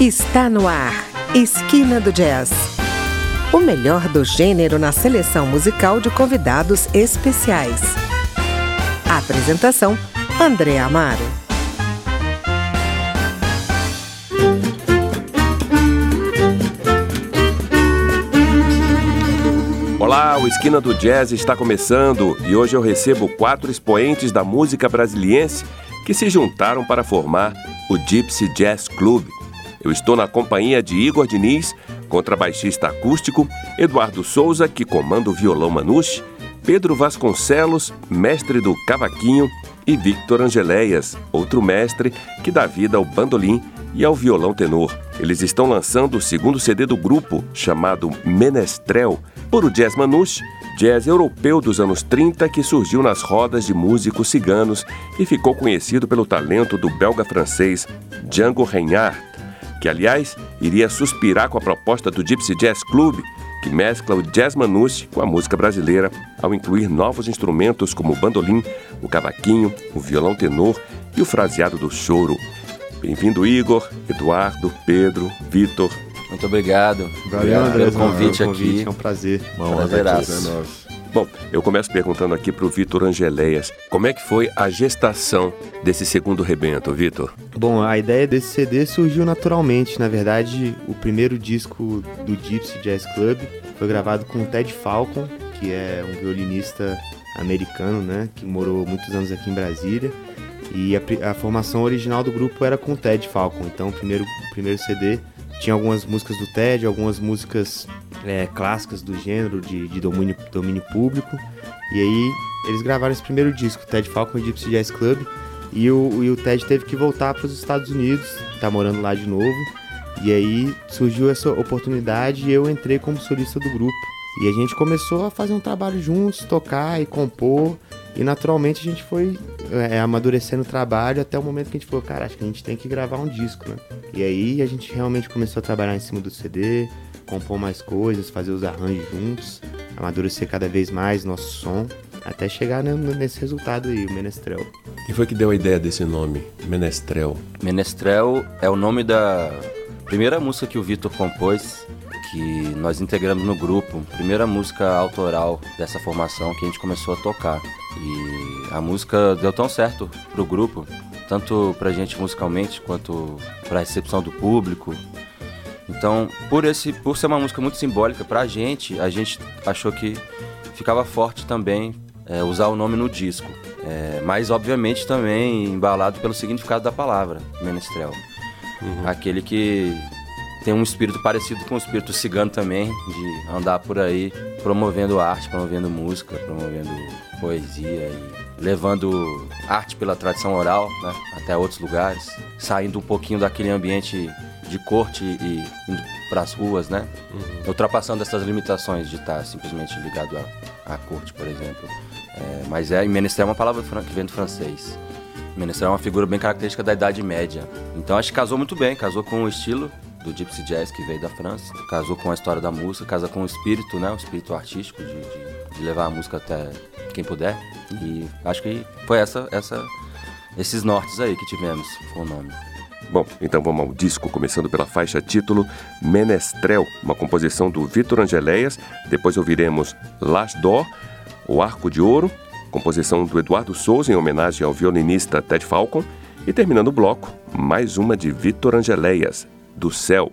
Está no ar, Esquina do Jazz. O melhor do gênero na seleção musical de convidados especiais. A apresentação, André Amaro. Olá, o Esquina do Jazz está começando e hoje eu recebo 4 expoentes da música brasiliense que se juntaram para formar o Gypsy Jazz Club. Eu estou na companhia de Igor Diniz, contrabaixista acústico, Eduardo Souza, que comanda o violão manouche, Pedro Vasconcelos, mestre do cavaquinho, e Victor Angeléias, outro mestre que dá vida ao bandolim e ao violão tenor. Eles estão lançando o segundo CD do grupo, chamado Menestrel, por o jazz manouche, jazz europeu dos anos 30 que surgiu nas rodas de músicos ciganos e ficou conhecido pelo talento do belga-francês Django Reinhardt, que, aliás, iria suspirar com a proposta do Gypsy Jazz Club, que mescla o jazz manouche com a música brasileira, ao incluir novos instrumentos como o bandolim, o cavaquinho, o violão tenor e o fraseado do choro. Bem-vindo, Igor, Eduardo, Pedro, Vitor. Muito obrigado. Valeu, André, pelo convite aqui. É um prazer. Bom, eu começo perguntando aqui para o Victor Angeléias. Como é que foi a gestação desse segundo rebento, Vitor? Bom, a ideia desse CD surgiu naturalmente. Na verdade, o primeiro disco do Gypsy Jazz Club foi gravado com o Ted Falcon, que é um violinista americano, né, que morou muitos anos aqui em Brasília. E a formação original do grupo era com o Ted Falcon. Então, o primeiro CD tinha algumas músicas do Ted, algumas músicas clássicas do gênero, de domínio público. E aí eles gravaram esse primeiro disco, Ted Falcon e Gypsy Jazz Club. E o Ted teve que voltar para os Estados Unidos, tá morando lá de novo. E aí surgiu essa oportunidade e eu entrei como solista do grupo. E a gente começou a fazer um trabalho juntos, tocar e compor. E naturalmente a gente foi amadurecendo o trabalho até o momento que a gente falou, cara, acho que a gente tem que gravar um disco, né? E aí a gente realmente começou a trabalhar em cima do CD, compor mais coisas, fazer os arranjos juntos, amadurecer cada vez mais nosso som, até chegar nesse resultado aí, o Menestrel. Quem foi que deu a ideia desse nome, Menestrel? Menestrel é o nome da primeira música que o Vitor compôs, que nós integramos no grupo, primeira música autoral dessa formação que a gente começou a tocar. E a música deu tão certo pro grupo, tanto pra gente musicalmente quanto pra recepção do público. Então, por ser uma música muito simbólica pra gente, a gente achou que ficava forte também usar o nome no disco. Mas, obviamente, também embalado pelo significado da palavra, Menestrel. Aquele que tem um espírito parecido com o espírito cigano também, de andar por aí promovendo arte, promovendo música, promovendo poesia e levando arte pela tradição oral, né, até outros lugares, saindo um pouquinho daquele ambiente de corte e indo para as ruas, né, ultrapassando essas limitações de estar simplesmente ligado à corte, por exemplo. Mas Menestrel é uma palavra que vem do francês. Menestrel é uma figura bem característica da Idade Média. Então acho que casou muito bem, casou com o estilo do Gypsy Jazz que veio da França, casou com a história da música, casa com o espírito, né, o espírito artístico de levar a música até quem puder. E acho que foi esses nortes aí que tivemos, foi o nome. Bom, então vamos ao disco, começando pela faixa título Menestrel, uma composição do Victor Angeléias. Depois ouviremos L'Âge d'Or, o Arco de Ouro, composição do Eduardo Souza em homenagem ao violinista Ted Falcon. E terminando o bloco, mais uma de Victor Angeléias, Do Céu.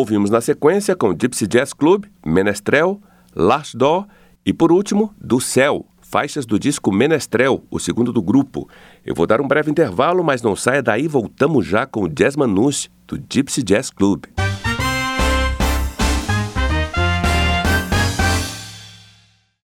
Ouvimos na sequência com Gypsy Jazz Club, Menestrel, L'Arche d'Or e, por último, Do Céu, faixas do disco Menestrel, o segundo do grupo. Eu vou dar um breve intervalo, mas não saia daí, voltamos já com o Jazz Manouche, do Gypsy Jazz Club.